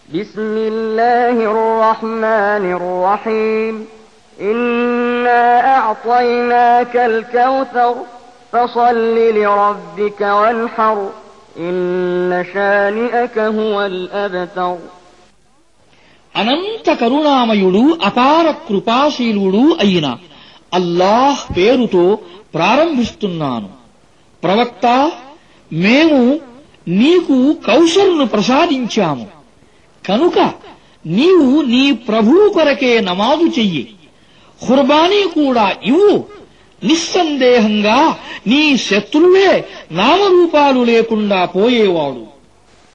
بسم الله الرحمن الرحيم إنا أعطيناك الكوثر فصل لربك وانحر إن شانئك هو الأبتر. అనంత కరుణామయుడు అపార కృపాశీలుడు అయిన అల్లాహ్ పేరుతో ప్రారంభిస్తున్నాను. ప్రవక్త, మేము నీకు కౌసరును ప్రసాదించాము కనుక నీవు నీ ప్రభువు కొరకే నమాజు చెయ్యి. ఖుర్బానీ కూడా ఇవ్వు. నిస్సందేహంగా నీ శత్రువే నామరూపాలు లేకుండా పోయేవాడు.